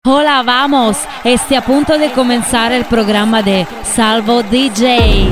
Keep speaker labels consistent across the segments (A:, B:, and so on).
A: Hola, vamos. Esté a punto de comenzar el programa de Salvo DJ.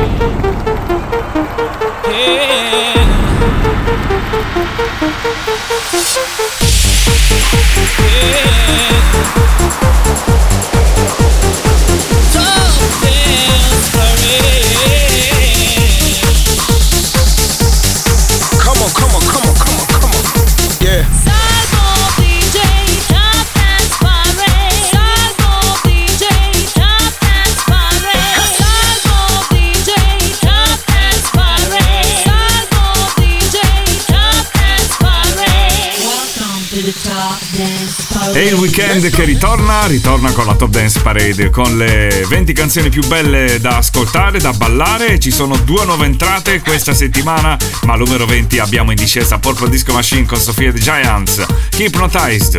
B: Come on. Yeah.
A: Salvo DJ, Top Dance Parade. Salvo DJ, Top Dance Parade. Salvo DJ, Top Dance Parade. Salvo DJ, Top Dance Parade. Welcome to the Top Dance Parade.
C: E il weekend che ritorna con la Top Dance Parade, con le 20 canzoni più belle da ascoltare, da ballare. Ci sono 2 nuove entrate questa settimana, ma al numero 20 abbiamo in discesa Purple Disco Machine con Sophia the Giants, Hypnotized.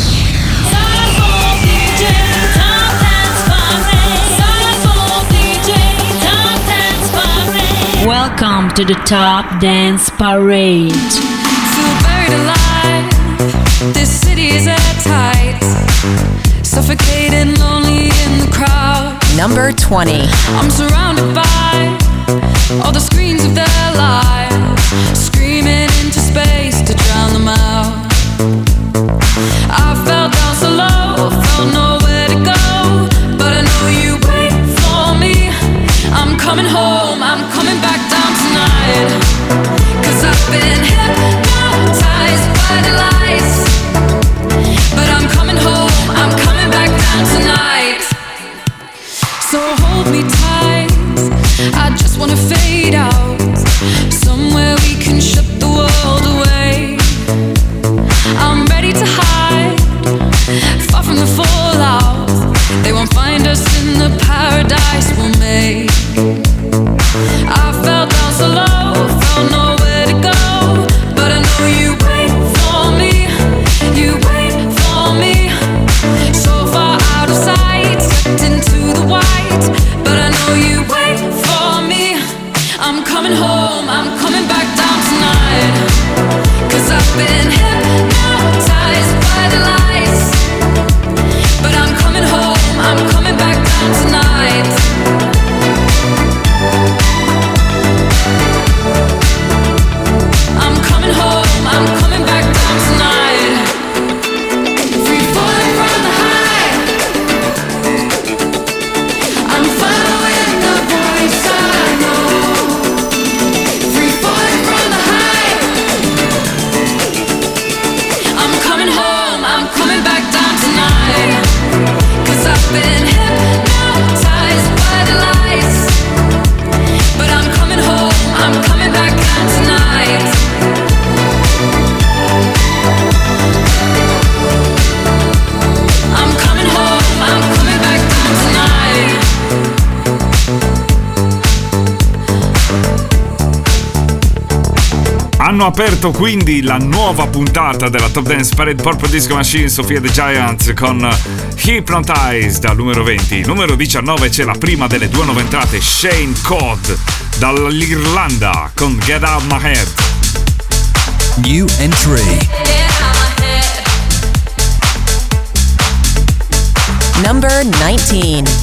A: Salvo DJ, Top Dance Parade. Salvo DJ, Top Dance Parade. Welcome to the Top Dance Parade.
D: Feel buried alive. This city is airtight. Suffocating, lonely in the crowd.
E: Number 20.
D: I'm surrounded by all the screens of their lives, screaming into space to drown them out. I fell down so low, felt nowhere to go, but I know you wait for me. I'm coming home, I'm coming back down tonight, 'cause I've been hypnotized by the lights. But I'm coming home, I'm coming back down tonight. So hold me tight, I just wanna fade out, somewhere we can shut the world away. I'm ready to hide, far from the fallout. They won't find us in the paradise we'll make. I fell down so low, felt nowhere to go, but I know you wait for me, you wait for me. So far out of sight, sucked into the white, but I know you wait for me. I'm coming home, I'm coming back down tonight, 'cause I've been hypnotized by the lights. But I'm coming home, I'm coming back down tonight. I'm coming home, I'm coming back down tonight. Free falling from the high, I'm following the voice I know. Free falling from the high, I'm coming home, I'm coming back down tonight, 'cause I've been hypnotized by the lights. But I'm coming home, I'm coming back down tonight. I'm coming home, I'm coming back down tonight.
C: Hanno aperto quindi la nuova puntata della Top Dance Parade Purple Disco Machine, Sophia the Giants con Hypnotized al numero 20. Numero 19 c'è la prima delle 2 nuove entrate, Shane Codd dall'Irlanda con Get Out My Head.
F: New entry.
E: Number 19.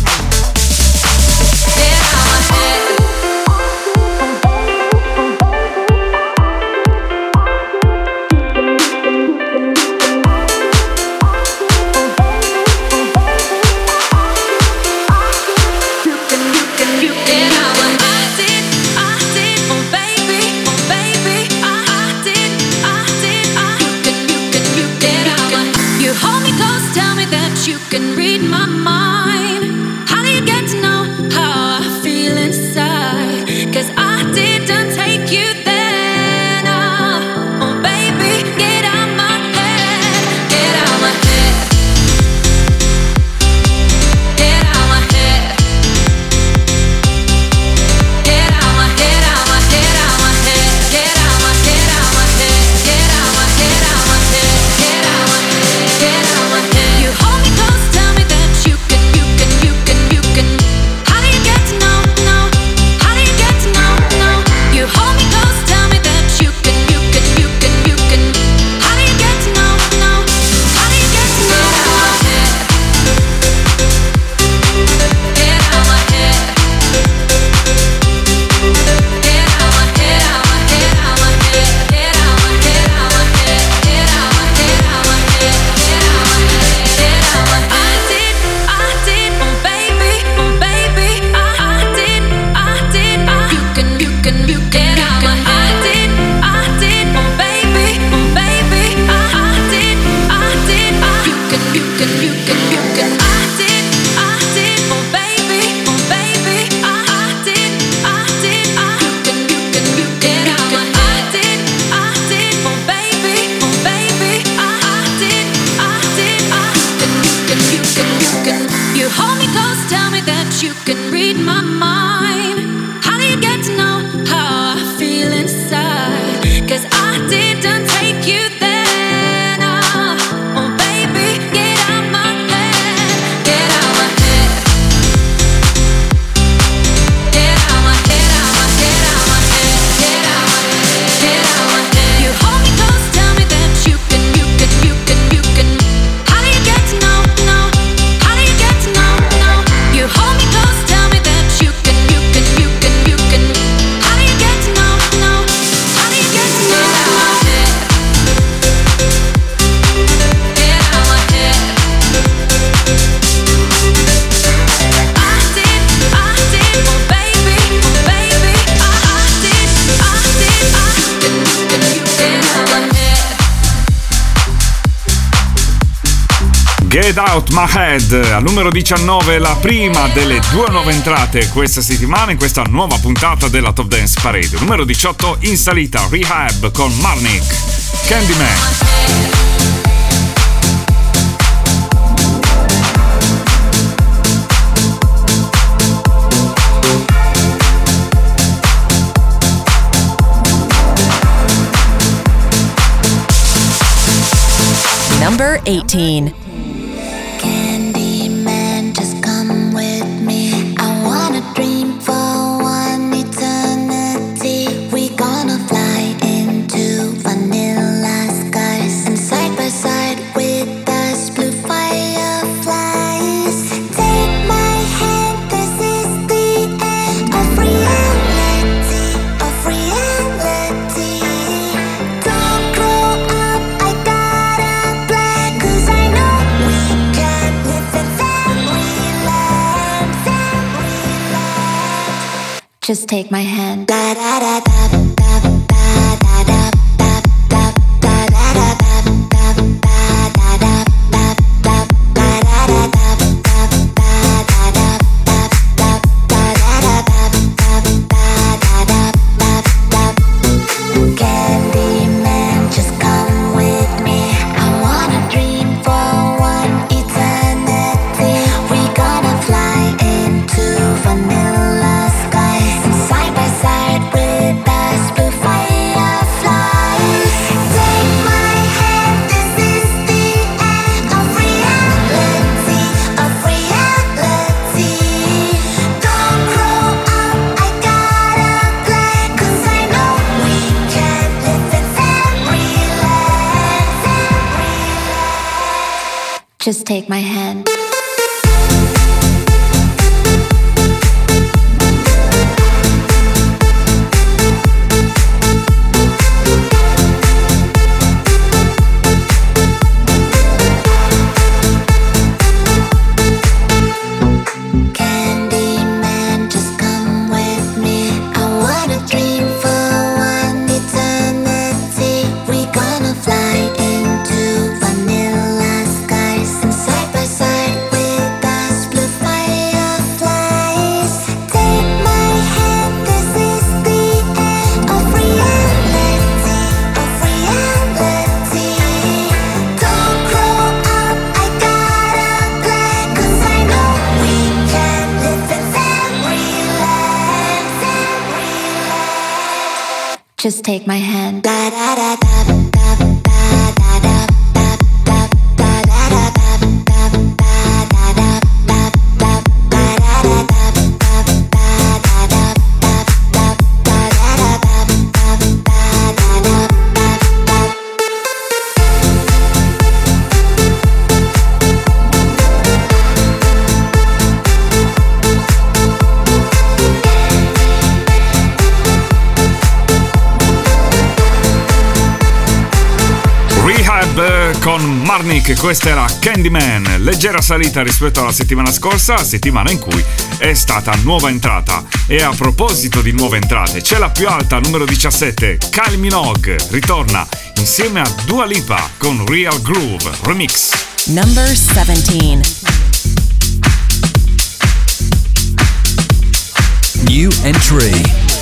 D: You can read my mind. How do you get to know how I feel inside? 'Cause I didn't take you there. No. Oh baby, get out my head. Get out my head. Get out my head. Get out my head, out my head, out my head. Get out my head, out my head. Get out my head, out my head. Get out my head, get out my head. You hold me close, tell me that you can
C: Get Out My Head, al numero 19, la prima delle due nuove entrate questa settimana in questa nuova puntata della Top Dance Parade. Numero 18 in salita, Rehab con Marnik, Candyman.
E: Number 18.
G: Candyman, just come with me. I wanna dream for one eternity. We gonna fly into vanilla skies and side by side with us blue fireflies. Take my hand, this is the end of reality, of reality. Don't grow up, I gotta play, 'cause I know we can live in fairyland, fairyland. Just take my hand. Da da da da da da da da da da da da da da da da Candyman, just come with me. I wanna dream for one eternity. We gonna fly into vanilla skies and side by side with us blue fireflies. Take my hand, this is the end of reality, of reality. Don't grow up, I gotta play, 'cause I know we can live in fairyland, fairyland. Just take my hand. Candyman, just come with me. I wanna dream for one eternity. We gonna fly into vanilla skies and side by side with us blue fireflies. Take my hand, this is the end of reality, of reality. Don't grow up, I gotta play, 'cause I know we can live in fairyland, fairyland. Just take my hand. Da da da da da da da da da da da da da da
C: con Marnik, questa era Candyman, leggera salita rispetto alla settimana scorsa, settimana in cui è stata nuova entrata. E a proposito di nuove entrate, c'è la più alta, numero 17, Kylie Minogue, ritorna insieme a Dua Lipa con Real Groove Remix.
E: Number 17.
F: New entry.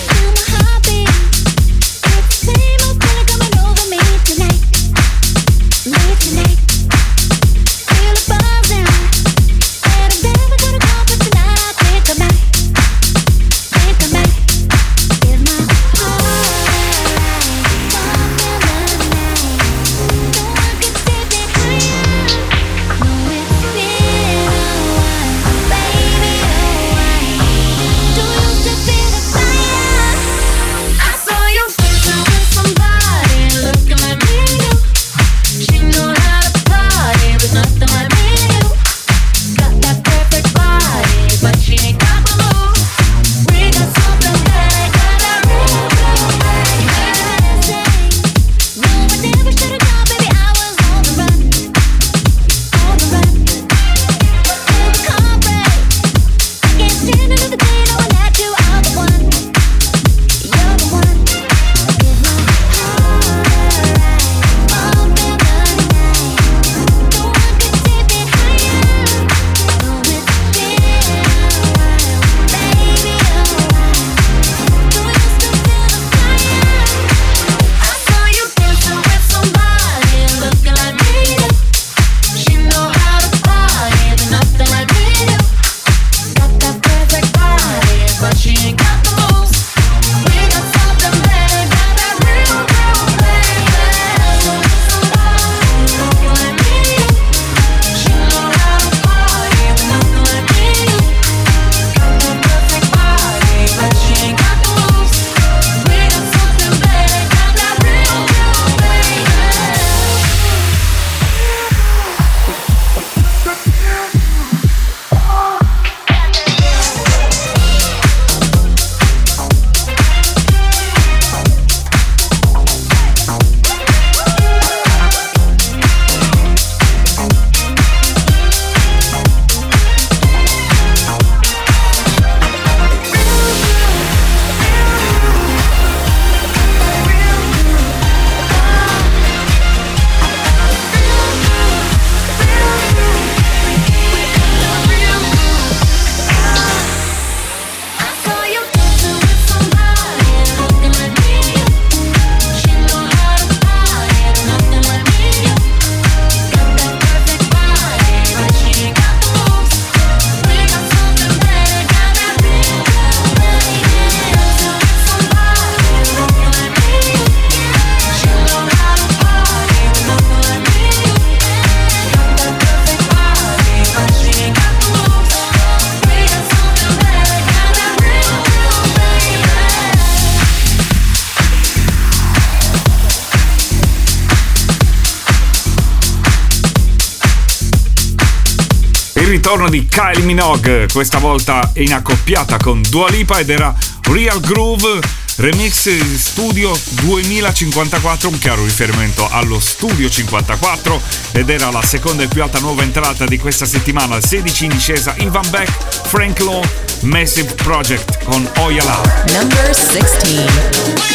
C: ritorno di Kylie Minogue, questa volta in accoppiata con Dua Lipa, ed era Real Groove Remix Studio 2054, un chiaro riferimento allo Studio 54, ed era la seconda e più alta nuova entrata di questa settimana. Al 16 in discesa Ivan Beck, Frank Lowe, Massive Project con Oyala.
E: Number 16.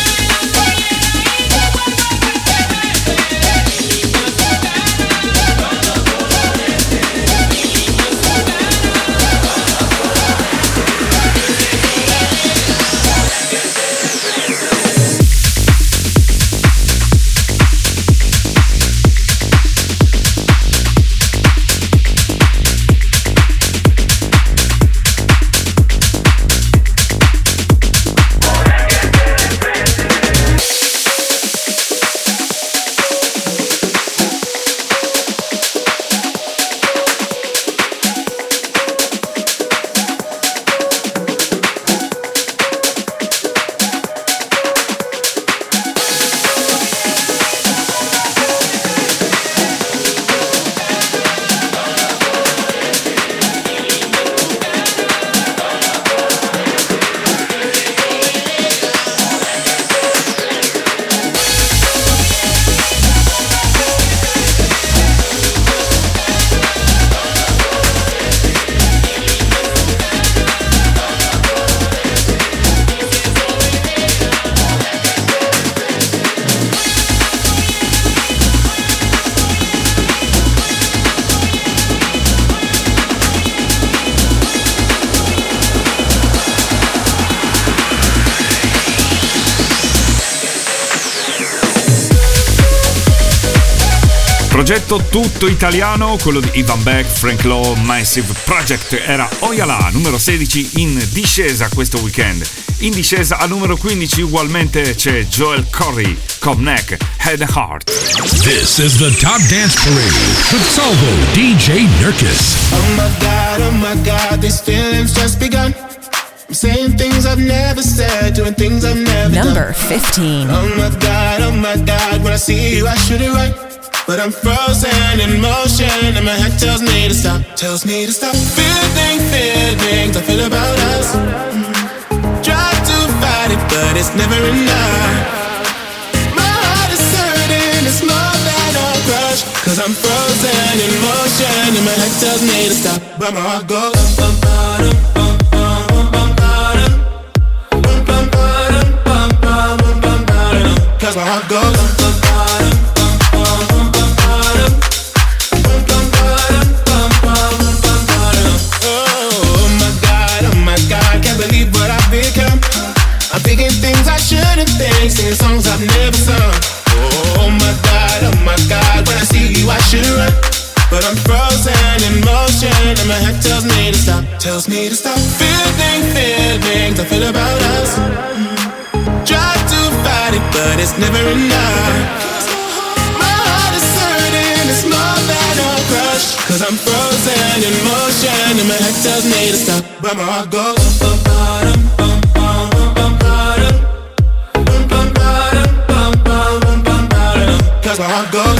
C: Progetto tutto italiano, quello di Ivan Beck, Frank Lowe, Massive Project, era Oyala, numero 16 in discesa questo weekend. In discesa al numero 15 ugualmente c'è Joel Corry, Comneck, Head and Heart.
F: This is the Top Dance Parade with Salvo DJ Nurkis.
B: Oh my God, these feelings just begun. I'm saying things I've never said, doing things I've never
E: Number
B: done.
E: 15.
B: Oh my God, when I see you I should it right. But I'm frozen in motion and my head tells me to stop. Feelings I feel about us. Try to fight it but it's never enough. My heart is hurting, it's more than a crush. Cause I'm frozen in motion and my head tells me to stop. But my heart goes bum, bum, bum, bum, bum, bum, bum, bum, bum, bum, bum, cause my heart goes I'm thinking things I shouldn't think, singing songs I've never sung. Oh my God, when I see you I should run. But I'm frozen in motion and my head tells me to stop. Feelings I feel about us. Try to fight it but it's never enough. My heart is hurting, it's more than a crush. Cause I'm frozen in motion and my head tells me to stop. But my heart goes cause my heart goes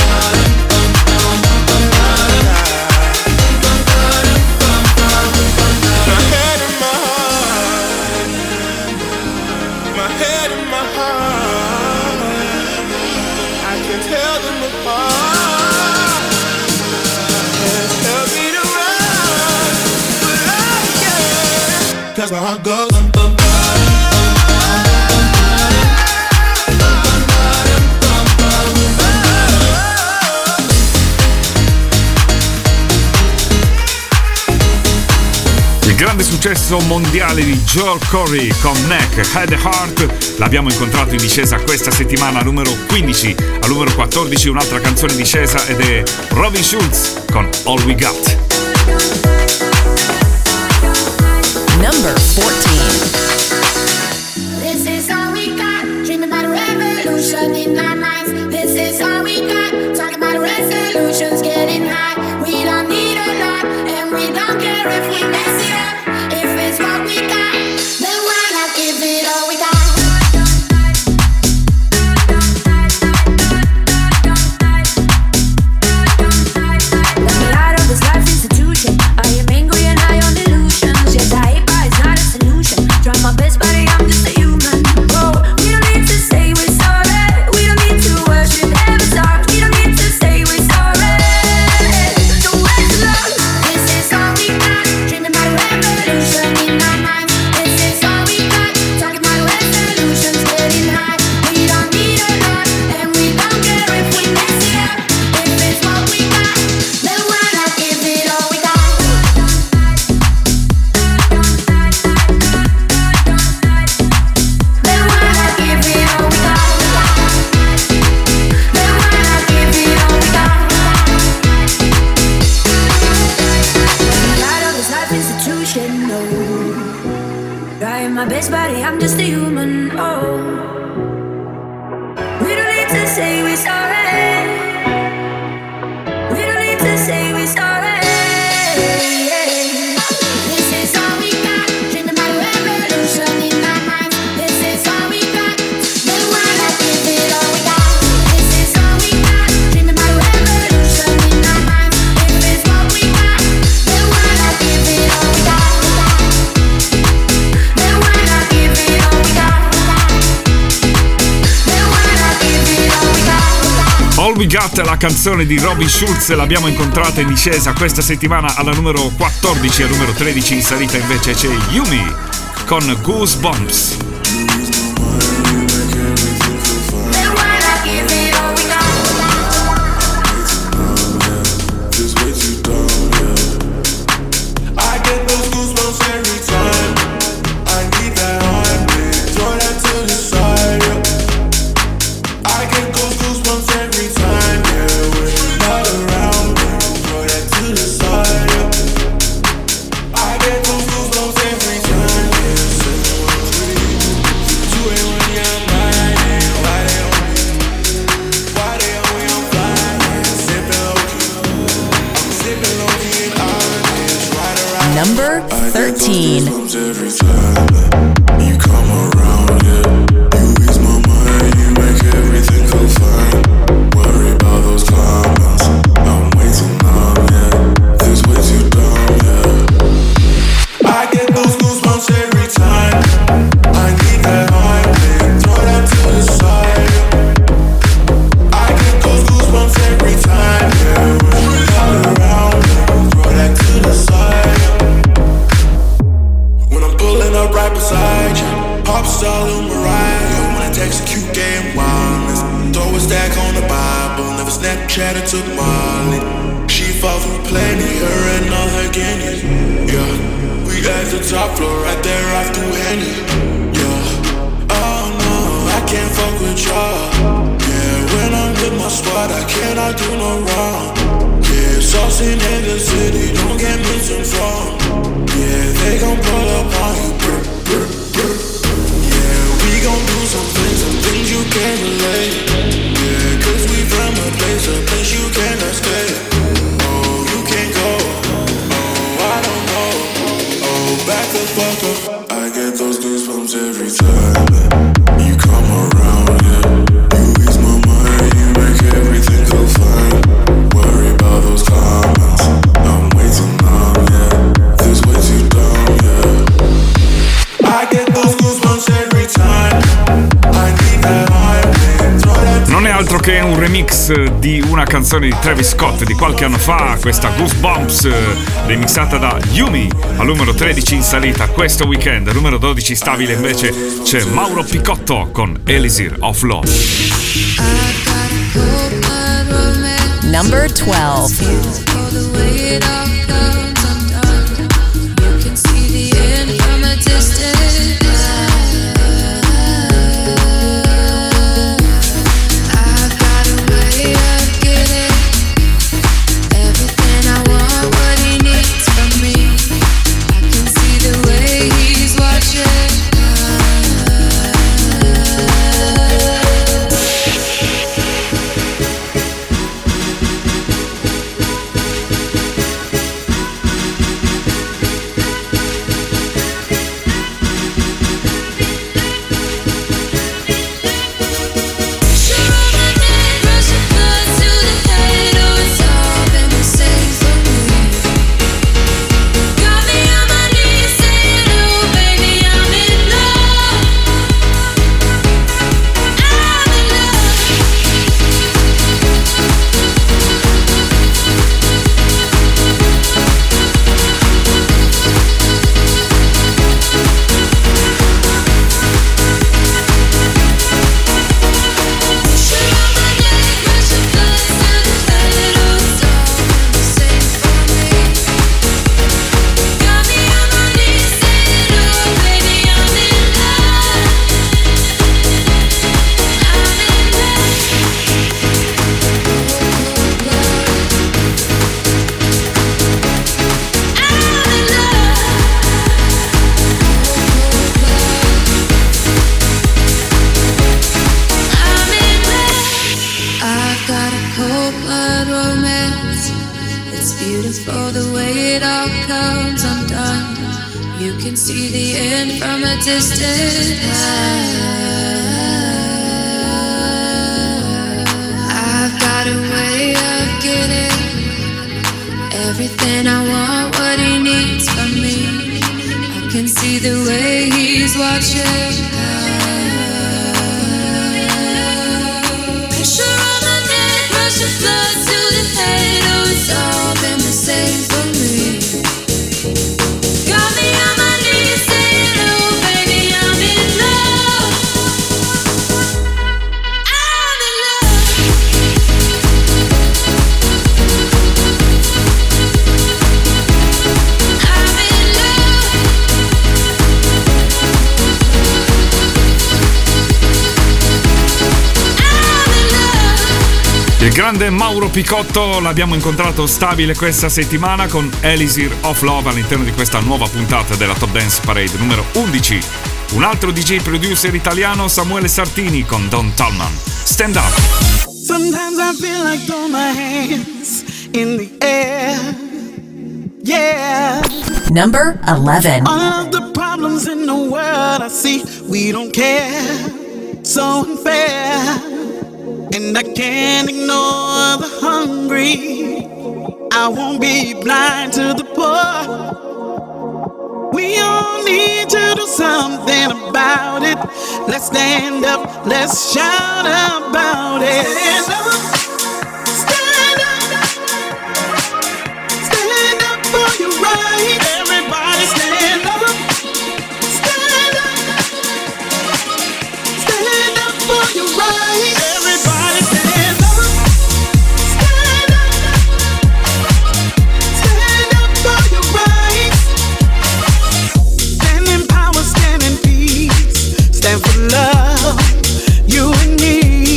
B: my head and my heart, my head and my heart, I can tell them apart. Tell me to run, but I can't. Cause my heart goes
C: Grande successo mondiale di Joel Corry con Neck, Head and Heart, l'abbiamo incontrato in discesa questa settimana, numero 15. Al numero 14 un'altra canzone in discesa ed è Robin Schulz con All We Got.
E: Number 14.
G: This is all we got. Dreaming about a revolution in our minds. This is all we got. Talking about resolutions, getting high. We don't need a lot, and we don't care if we mess it up. If it's what we got, then why not give it all we got? Let me out of this life institution. I am angry and I own illusions. Yes, I hate, but it's not a solution. Try my best, but I'm just a human. Oh, we don't need to say we're sorry. We don't need to worship heaven's heart. We don't need to say we're sorry. So where's the love? This is all we got. Dreaming about a revolution in our minds. This is all we got. Talking about resolutions, getting high. We don't need a lot, and we don't care if we mess it up. If it's what we got, then why not give it all we got? Then why not give it all we got? Then why not give it all we got? Out of this life institution, no. Trying my best, buddy, I'm just a human, oh. We don't need to say we're sorry. We don't need to say we're sorry. This is all we got. Dreaming about a revolution in our minds. This is all we got. Then why not give it all we got? This is all we got. Dreaming about a revolution in our minds. If it's what we got, then why not give it all we got? Then why not give it all we got? Then why not give it all we got?
C: All We Got, la canzone di Robin Schulz, l'abbiamo incontrata in discesa questa settimana alla numero 14. Al numero 13 in salita invece c'è Yumi con Goosebumps.
G: Then why not give it all we got?
B: I get those goosebumps every time. I need that heartbeat, throw that to the side, yeah. I get those goosebumps every time, yeah.
E: Number 13.
B: Every time you come around, yeah, you ease my mind, you make everything feel fine. Worry about those comments, I'm way too numb, yeah. This way too dumb, yeah. I get those goosebumps every time. I need that high thing, throw that to the side. I get those goosebumps every time, yeah. When you're all around, throw that to the side. When I'm pulling up right beside you, pop star Lil Mariah. When I text a cute game wireless, throw a stack on the Bible. Never Snapchat or took Molly. She fall through plenty, her and all her guineas. Yeah, we at the top floor, right there off through Henny. Yeah, oh no, I can't fuck with y'all. Yeah, when I'm with my squad, I cannot do no wrong. Yeah, saucing in the city, don't get misinformed. Yeah, they gon' pull up on you. Yeah, we gon' do some things you can't relate. Yeah, 'cause we from a place you cannot stay. Oh, you can't go. Oh, I don't know. Oh, back the fuck up. I get those goosebumps every time you come around, yeah. You ease my mind, you make everything feel fine. Worry about those comments, I'm way too numb, yeah. This way too dumb, yeah. I get those goosebumps every time. I need that high.
C: Non è altro che un remix di una canzone di Travis Scott di qualche anno fa, questa Goosebumps remixata da Yumi, al numero 13 in salita questo weekend. Al numero 12 stabile invece c'è Mauro Picotto con Elixir of Love.
E: Number 12.
D: beautiful the way it all comes undone. You can see the end from a distance. I've got a way of getting everything I want, what he needs from me. I can see the way he's watching. Pressure on my neck, rush of blood to the head. Oh, it's all been the same for me. Got me on my knees saying, oh baby, I'm in love. I'm in love. I'm in love. I'm in love.
C: Il grande Mauro Picotto l'abbiamo incontrato stabile questa settimana con Elixir of Love all'interno di questa nuova puntata della Top Dance Parade numero 11. Un altro DJ producer italiano, Samuele Sartini con Don Tallman. Stand Up.
H: Sometimes I feel like throwing my hands in the air. Yeah.
E: Number 11.
H: All of the problems in the world I see, we don't care. So unfair. And I can't ignore the hungry. I won't be blind to the poor. We all need to do something about it. Let's stand up, let's shout about it. Stand up, stand up, stand up for your right. Everybody stand up, stand up, stand up for your right. Everybody stand up, stand up, stand up for your right. Stand in power, stand in peace, stand for love, you and me.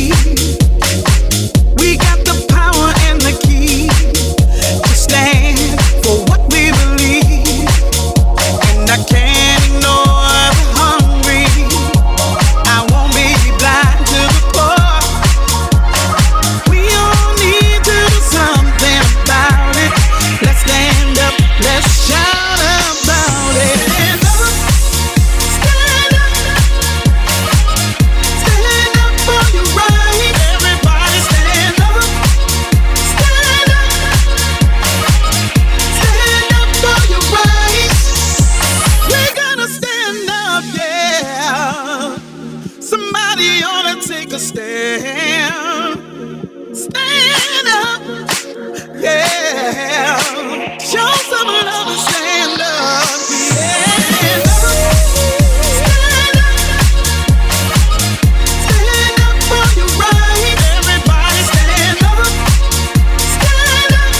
H: We got the power and the key to stand for what we believe. And I can't ignore the hungry. I won't be blind to the poor. We all need to do something about it. Let's stand up, let's shout about it. Stand up, stand up, stand up for your right. Everybody stand up, stand up, stand up for your right. We're gonna stand up, yeah. Somebody ought to take a stand. Stand up, yeah. Show some love and stand up, yeah. Stand up, stand up for your right. Everybody stand up, stand up,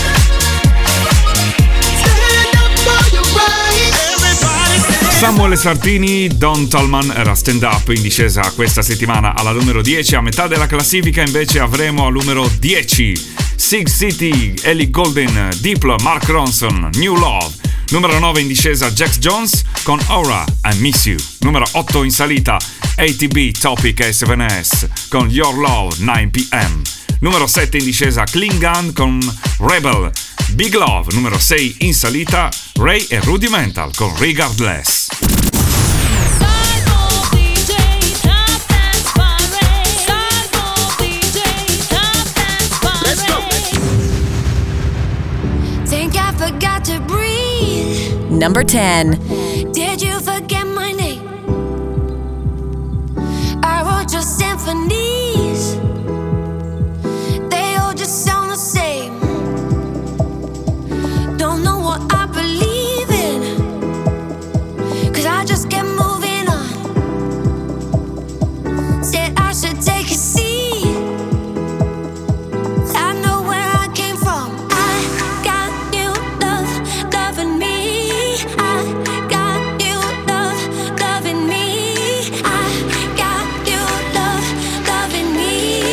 H: stand up for your right. Everybody stand up.
C: Samuele Sartini, Don Tolman era Stand Up in discesa questa settimana alla numero 10. A metà della classifica invece avremo al numero 10 Sig City, Ellie Goulding, Diplo, Mark Ronson, New Love. Numero 9 in discesa Jax Jones con Aura, I Miss You. Numero 8 in salita ATB, Topic e 7S con Your Love, 9pm. Numero 7 in discesa Klingon con Rebel, Big Love. Numero 6 in salita Ray e Rudimental con Regardless.
A: Salvo DJ Top Dance Parade. Salvo DJ Top Dance Parade.
D: Think I forgot to breathe.
E: Number 10.
D: Did you forget my name? I wrote your symphonies. They all just sound the same. Don't know what I believe in, 'cause I just kept moving on. Said I should take a seat. I know where I came from. I got new love, loving me. I got new love, loving me. I got new love, loving me.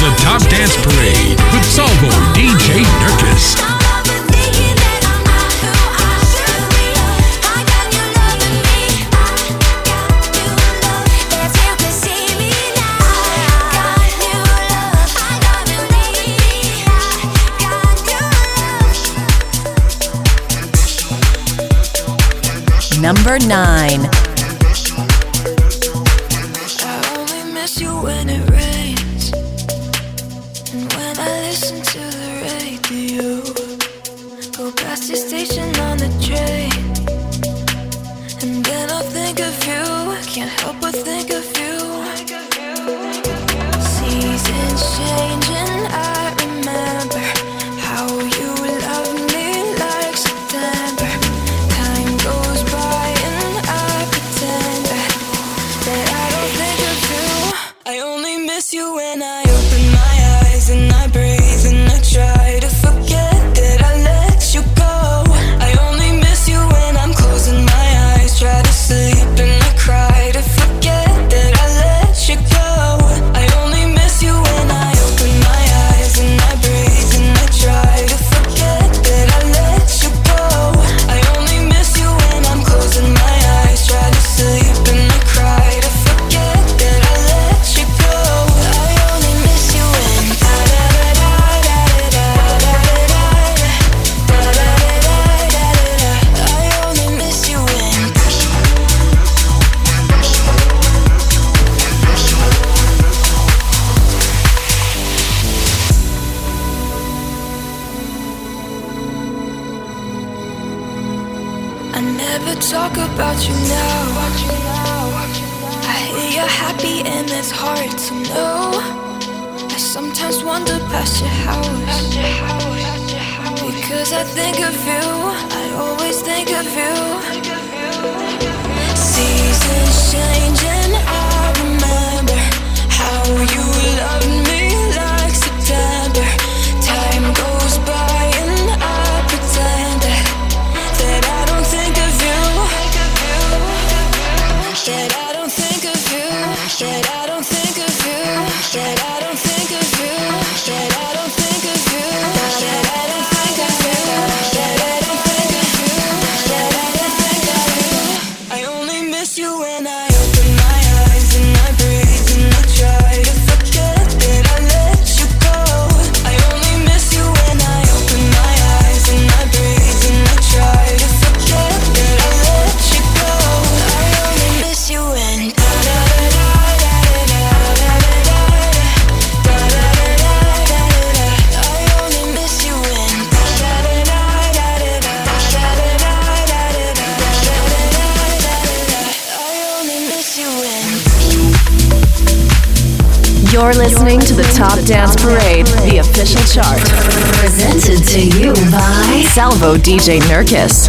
F: the Top Dance Parade with Salvo DJ Nurkis.
E: Number 9.
D: I only miss you when it rains, and when I listen to the radio, go past your station on the train, and then I'll think of you, can't help but think of you. Seasons changing, I remember how you loved me like September. Time goes by and I pretend that I don't think of you. I only miss you when I open my eyes and I breathe and I try to forget that I let you go. I only miss you when I'm closing my eyes, try to sleep and I cry to forget that I let you go. I only miss you when I open my eyes and I breathe and I try to forget that I let you go. I only miss you when I'm closing my eyes, try to sleep and I cry to forget that I let you go. I only miss you when da da da da da da da da da. I only miss you when. I never talk about you now. I hear you're happy and it's hard to know. I sometimes wander past your house because I think of you. I always think of you. Seasons change and I remember how you loved me like September. Time goes by and I pretend that I don't think of you. That I don't think of you. That I don't think of you. That I don't think of you. That I don't think of you. That I don't think of you. That I don't think of you. That I don't think of you. I only miss you when I open my eyes and I breathe and I try to forget that I let you go. I only miss you when I open my eyes and I breathe and I try to forget that I let you go. I only miss you when.
E: You're listening to the Top Dance Parade, the official chart. Presented to you by Salvo DJ Nurkis.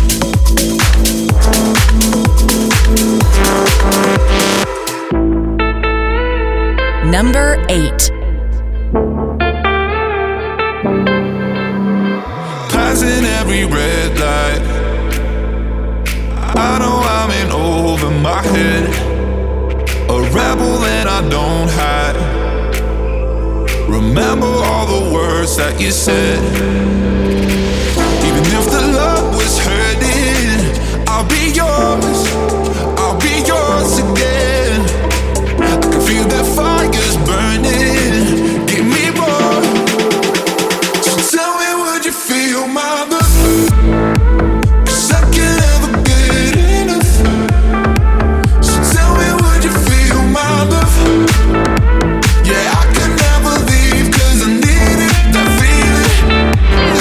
E: Number 8.
B: Passing every red light, I know I'm in over my head. A rebel and I don't hide. Remember all the words that you said. Even if the love was hurting, I'll be yours. I'll be yours again. I can feel that fire's burning. Give me more. So tell me, would you feel my love? 'Cause I can never get enough. So tell me, would you feel my love? Yeah, I can never leave 'cause I need it, that feeling.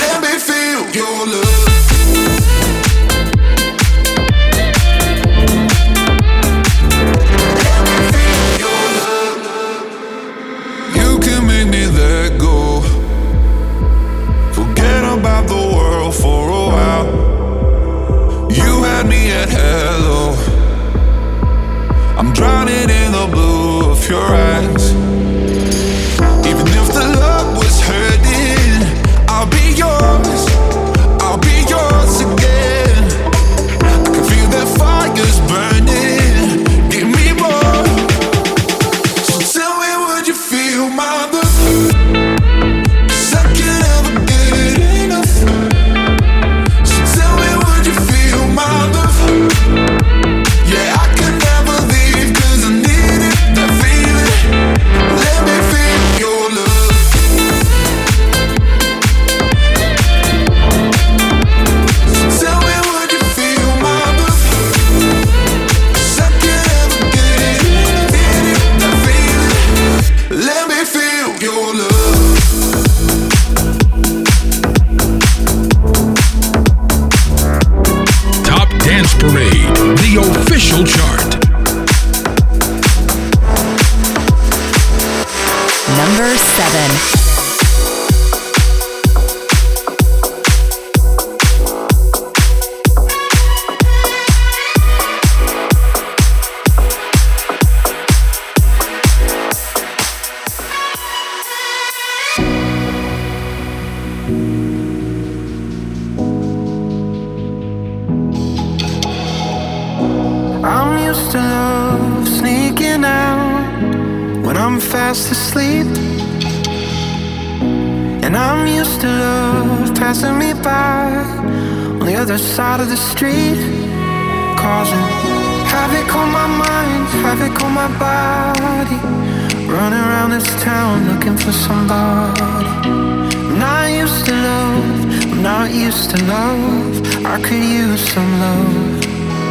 F: Parade, the official chart.
E: Number 7.
I: I'm used to love sneaking out when I'm fast asleep, and I'm used to love passing me by on the other side of the street, causing havoc on my mind, havoc on my body, running around this town looking for somebody. I'm not used to love, I'm not used to love, I could use some love.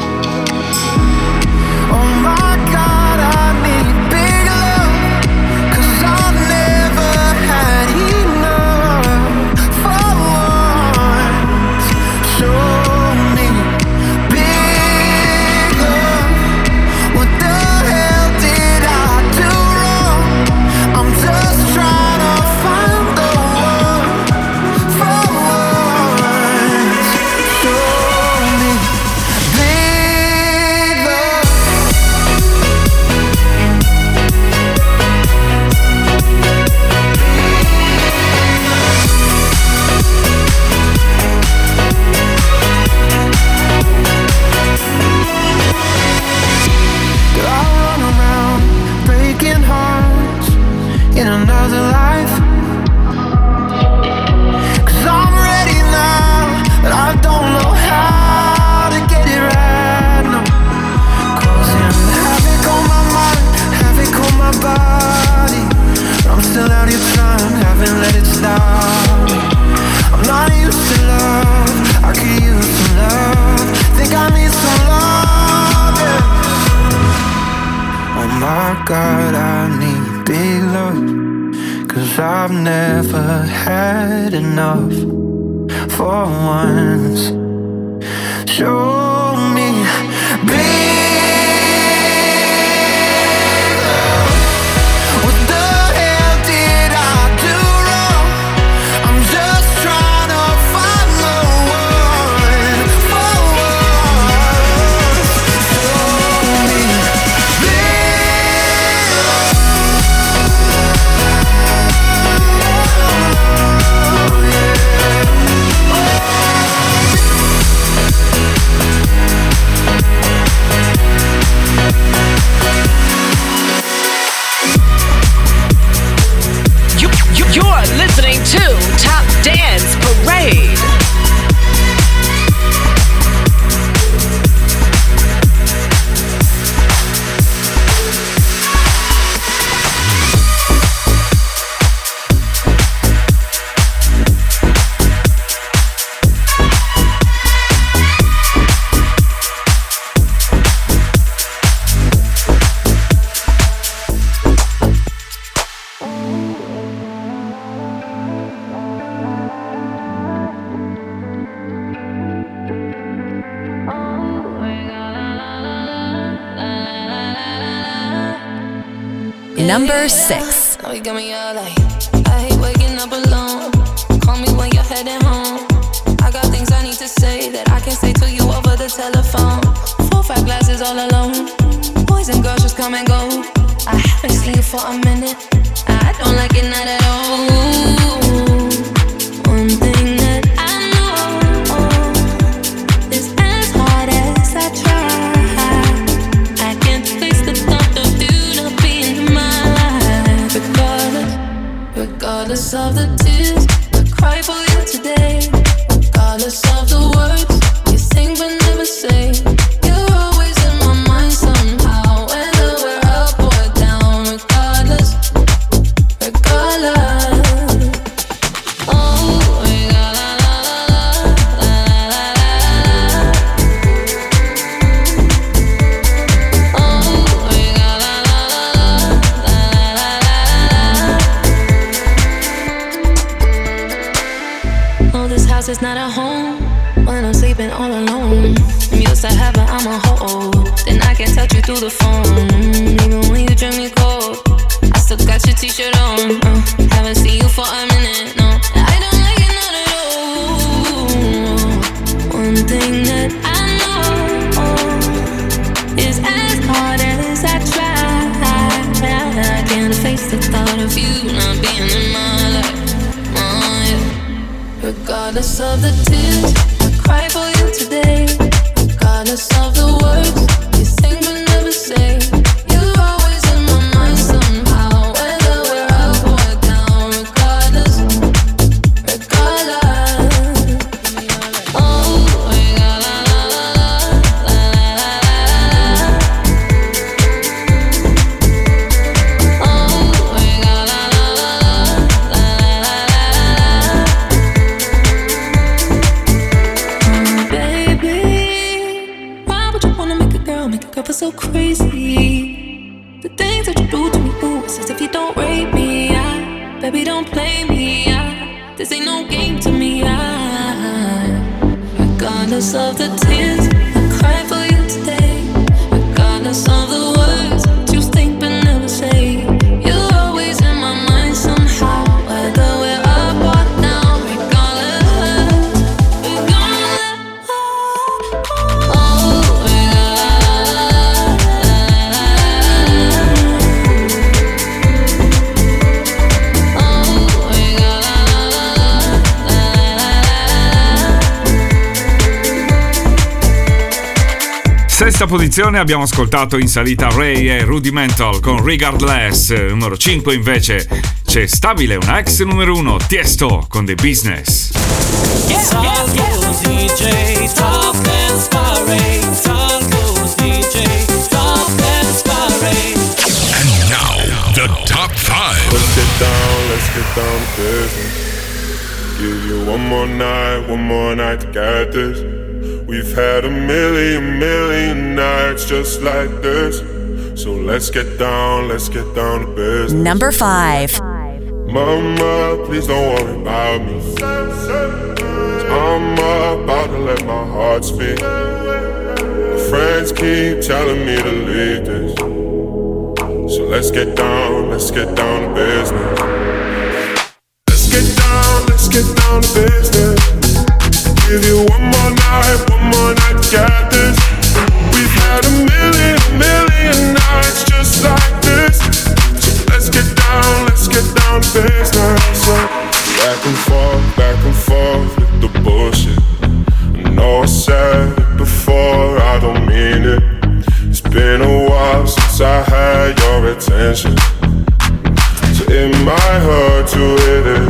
I: Oh my God, I need big love, 'cause I've never had enough for once. Show me big love. What the hell did I do wrong? I'm just trying to find the one for once. Show me big love. Did I run around breaking hearts in another life? 'Cause I'm ready now, but I don't know how to get it right now. Causing havoc on my mind, havoc on my body. I'm still out here trying, haven't let it stop me. I'm not used to love, I could use some love. Think I need some love, yeah. Oh my God, I need big love, 'cause I've never had enough for once. Show me big love. What the hell did I do wrong? I'm just trying to find the one for once. Show me big love.
J: You're listening to Top Dance Parade.
E: Number 6.
D: Now you got me all like, I hate waking up alone. Call me when you're heading home. I got things I need to say that I can't say to you over the telephone. 4, 5 glasses all alone. Boys and girls just come and go. I haven't seen you for a minute. I don't like it, not at all. One thing that I know is as hard as I try, I can't face the thought of you not being in my life. Regardless of the tears I cry for you today, regardless of the words you sing but never say, you're always in my mind somehow, whether we're up or down. Regardless. Oh, this house is not a home. when I'm sleeping all alone. I'm used to heaven, I'm a hoe. Then I can touch you through the phone. Even when you drink me cold, I still got your t-shirt on. Haven't seen you for a minute, no. I don't like it none at all. One thing that I know is as hard as I try, I can't face the thought of you not being in my life. Oh, yeah. Regardless of the tears I cry for you today, regardless of the words you think but never say, you're always in my mind somehow, whether we're up or down. Regardless. Oh, so crazy. The things that you do to me, ooh, it's as if you don't rape me. Baby, don't play me. This ain't no game to me. Regardless of the tears I cry for you today, regardless of the words that you think but never say, you're always in my mind somehow, whether we're up or down.
C: Sesta posizione abbiamo ascoltato in salita Ray e Rudimental con Regardless. Numero 5 invece c'è stabile una ex numero 1, Tiesto con The Business.
K: Salvo DJ Top Dance Parade. Salvo DJ Top Dance Parade.
F: And now, the top 5.
L: Let's get down to business. Give you one more night to get this. We've had a million nights just like this. So let's get down to business.
E: Number 5.
L: Mama, please don't worry about me. I'm about to let my heart speak. My friends keep telling me to leave this. So let's get down to business. Let's get down to business. Give you one more night to get this. We've had a million nights just like this. So let's get down to business. So back and forth with the bullshit. I know I said it before, I don't mean it. It's been a while since I had your attention, so it might hurt to hit it.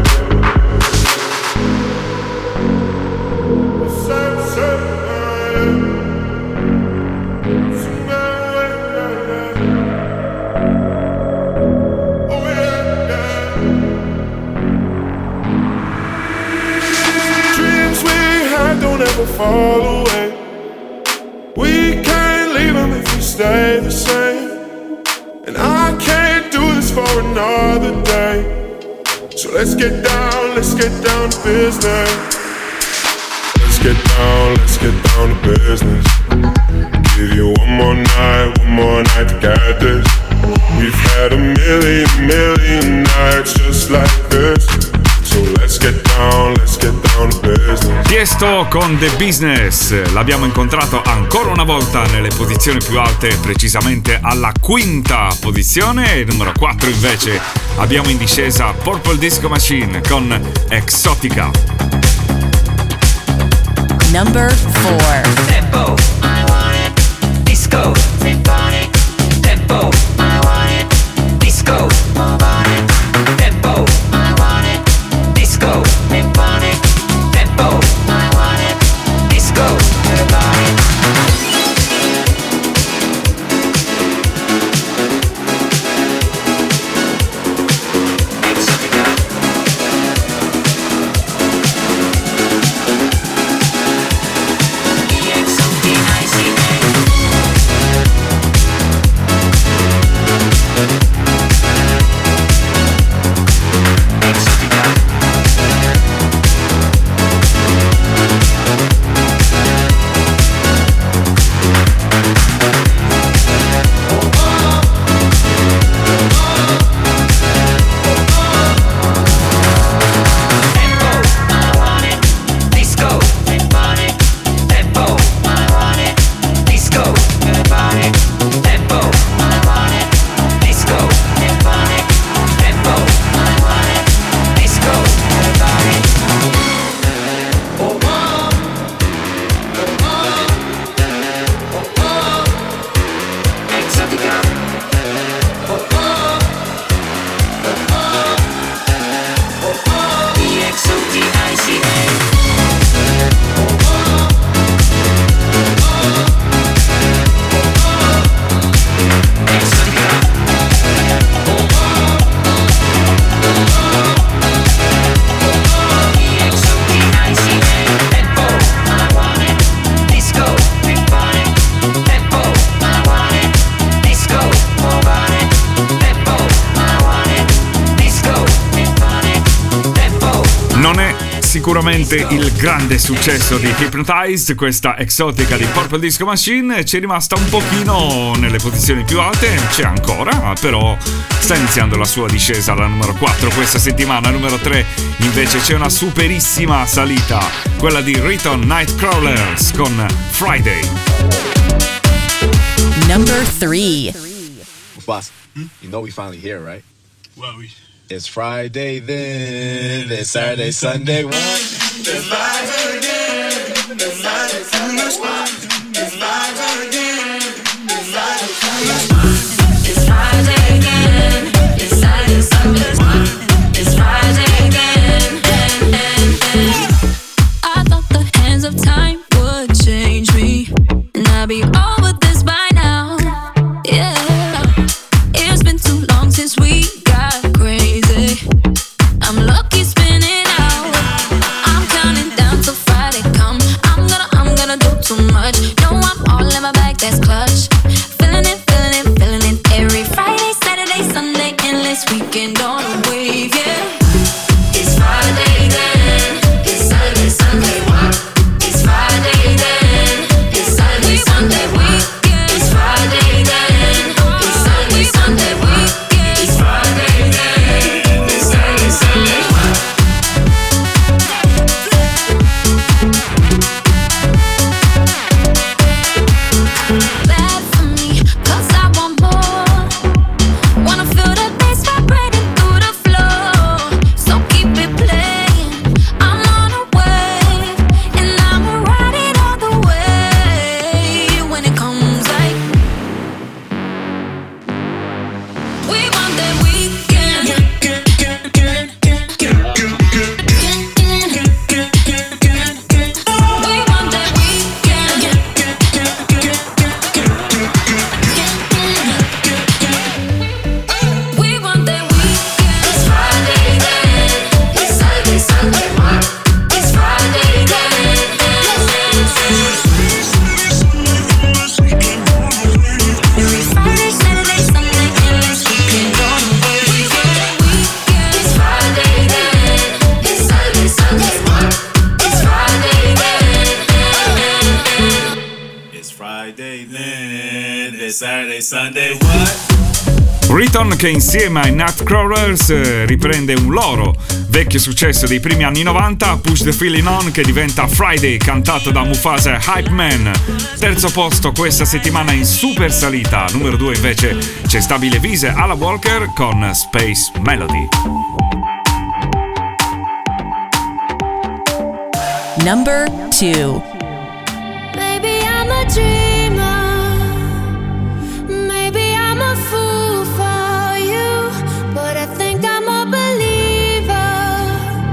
L: Fall away. We can't leave them if we stay the same. And I can't do this for another day. So let's get down to business. Let's get down to business. Give you one more night to get this. We've had a million nights just like this. So let's get down to business.
C: Tiesto con The Business. L'abbiamo incontrato ancora una volta nelle posizioni più alte, precisamente alla quinta posizione. E numero 4 invece abbiamo in discesa Purple Disco Machine con Exotica.
E: Number 4.
K: Tempo, I want it. Disco, symphonic. Tempo, I want it. Disco, symphonic. Tempo, I want it. Disco, symphonic. Tempo, I want it. Disco, symphonic.
C: sicuramente il grande successo di Hypnotized, questa exotica di Purple Disco Machine. C'è rimasta un pochino nelle posizioni più alte, c'è ancora, però sta iniziando la sua discesa alla numero 4 questa settimana. Numero 3 invece c'è una superissima salita, quella di Riton Nightcrawlers con Friday.
E: Number 3.
M: Boss, you know we finally here, right? Well, it's Friday then, it's Saturday, Sunday, what? It's live again, it's Friday, Sunday, what? It's live again, it's live again.
D: It's Friday again. It's Saturday, Sunday, what? It's Friday again. I thought the hands of time would change me, and I'd be over this by now. Yeah, it's been too long since we got crazy. I'm lucky spinning out. I'm counting down till Friday come. I'm gonna do too much. No, I'm all in my bag, that's clutch. Feeling it, feeling it, feeling it. Every Friday, Saturday, Sunday, endless weekend on a wave, yeah. It's Friday then. It's Saturday, Sunday, what? It's Friday then. It's Saturday, Sunday, weekend. It's Friday then. It's Saturday, Sunday, weekend. It's Friday then. It's Saturday, Sunday, what? Bad for me, 'cause I want more. Wanna feel the bass vibrating through the floor. So keep it playing. I'm on a wave, and I'ma ride it all the way. When it comes like we want that weekend. We want that weekend. We want that weekend. It's Friday then. It's Saturday, Sunday, what? It's Friday then. Every Friday, Saturday, Sunday, endless weekend on the weekend. It's Friday then. It's Saturday, Sunday, what? It's Friday then.
M: It's Friday then, it's Saturday, Sunday, what?
C: Riton, che insieme ai Nightcrawlers riprende un loro vecchio successo dei primi anni 90, Push the Feeling On, che diventa Friday, cantato da Mufasa e Hype Man. Terzo posto questa settimana in super salita. Numero 2 invece c'è Stabile Vise alla Walker con Space Melody.
E: Number 2.
A: Maybe I'm a dreamer. Maybe I'm a fool for you. But I think I'm a believer.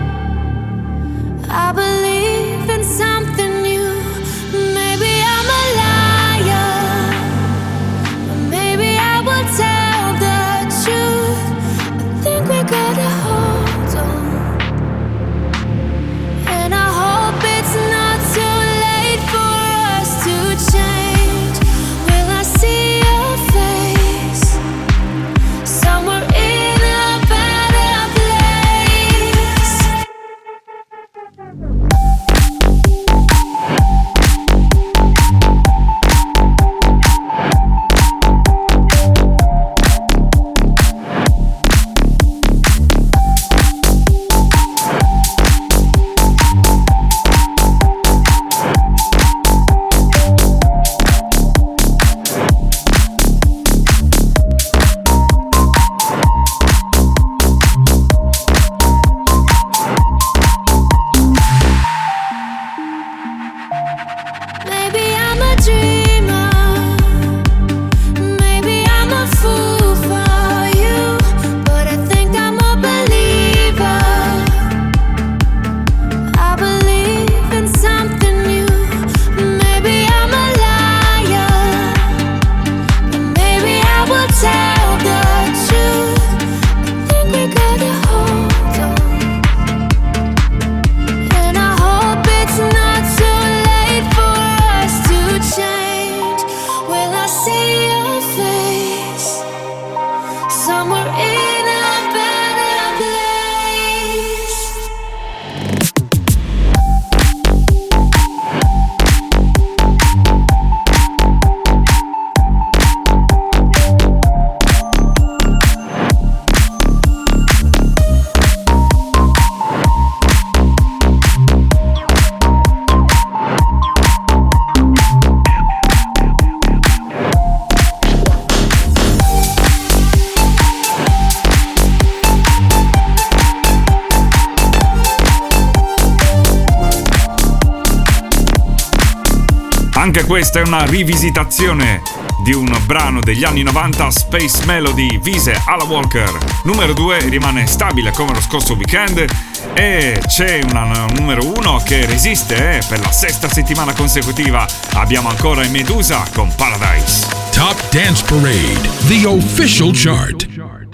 A: I believe in something new. Maybe I'm a liar. Maybe I will tell the truth. I think we gotta hold on. And I hope it's not too late for us to change.
C: Anche questa è una rivisitazione di un brano degli anni 90, Space Melody, Vise alla Walker. Numero 2 rimane stabile come lo scorso weekend e c'è una numero 1 che resiste per la sesta settimana consecutiva. Abbiamo ancora i Medusa con Paradise.
F: Top Dance Parade, the official chart.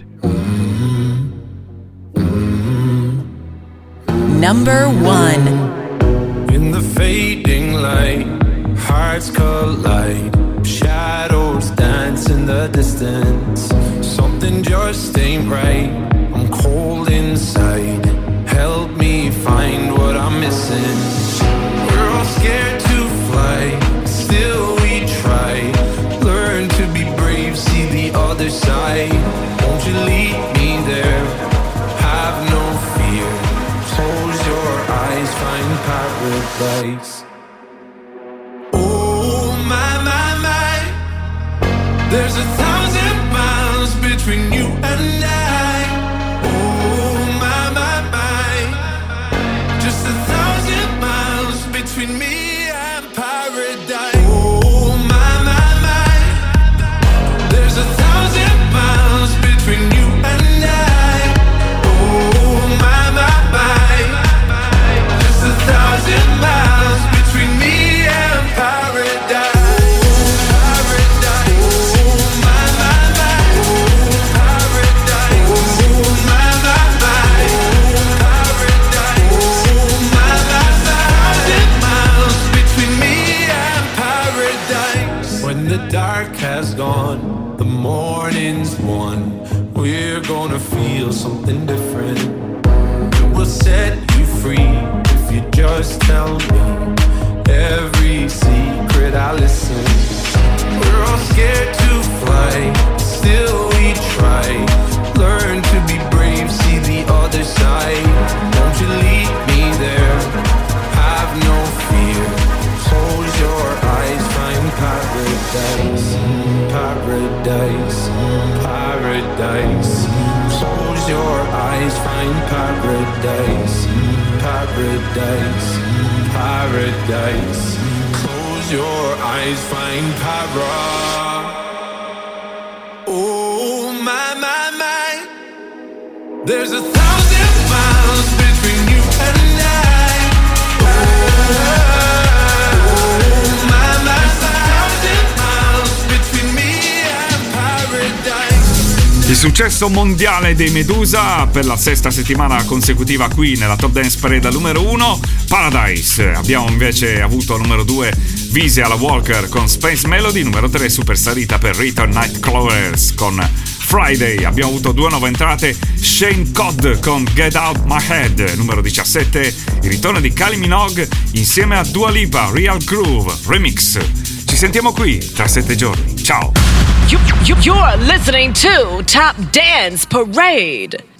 J: Number 1.
I: In the fading light, hearts collide, shadows dance in the distance. Something just ain't right, I'm cold inside. Help me find what I'm missing. We're all scared to fly, still we try. Learn to be brave, see the other side. Won't you lead me there? Have no fear. Close your eyes, find paradise. Oh my, my, my. There's 1,000 miles between you and I. Oh my, my, my. Just 1,000 miles between me and paradise. Oh my, my, my. There's 1,000 miles between you and I. Oh my, my, my. Just 1,000 miles between me and paradise. When the dark has gone, the morning's won. We're gonna feel something different. It will set you free if you just tell me every secret I listen. We're all scared to fly, still we try. Learn to be brave, see the other side. Won't you lead me there? Have no fear. Close your eyes, find paradise, paradise, paradise. Close your eyes, find paradise, paradise, paradise. Close your eyes, find paradise. Oh my, my, my. There's 1,000 miles between you and I.
C: Il successo mondiale dei Medusa per la sesta settimana consecutiva qui nella Top Dance Parade numero 1, Paradise. Abbiamo invece avuto al numero 2 Vise alla Walker con Space Melody, numero 3 super salita per Return Nightcrawlers con Friday. Abbiamo avuto 2 nuove entrate, Shane Codd con Get Out My Head, numero 17, il ritorno di Kylie Minogue insieme a Dua Lipa, Real Groove Remix. Ci sentiamo qui tra 7 giorni. Ciao!
J: You're listening to Top Dance Parade.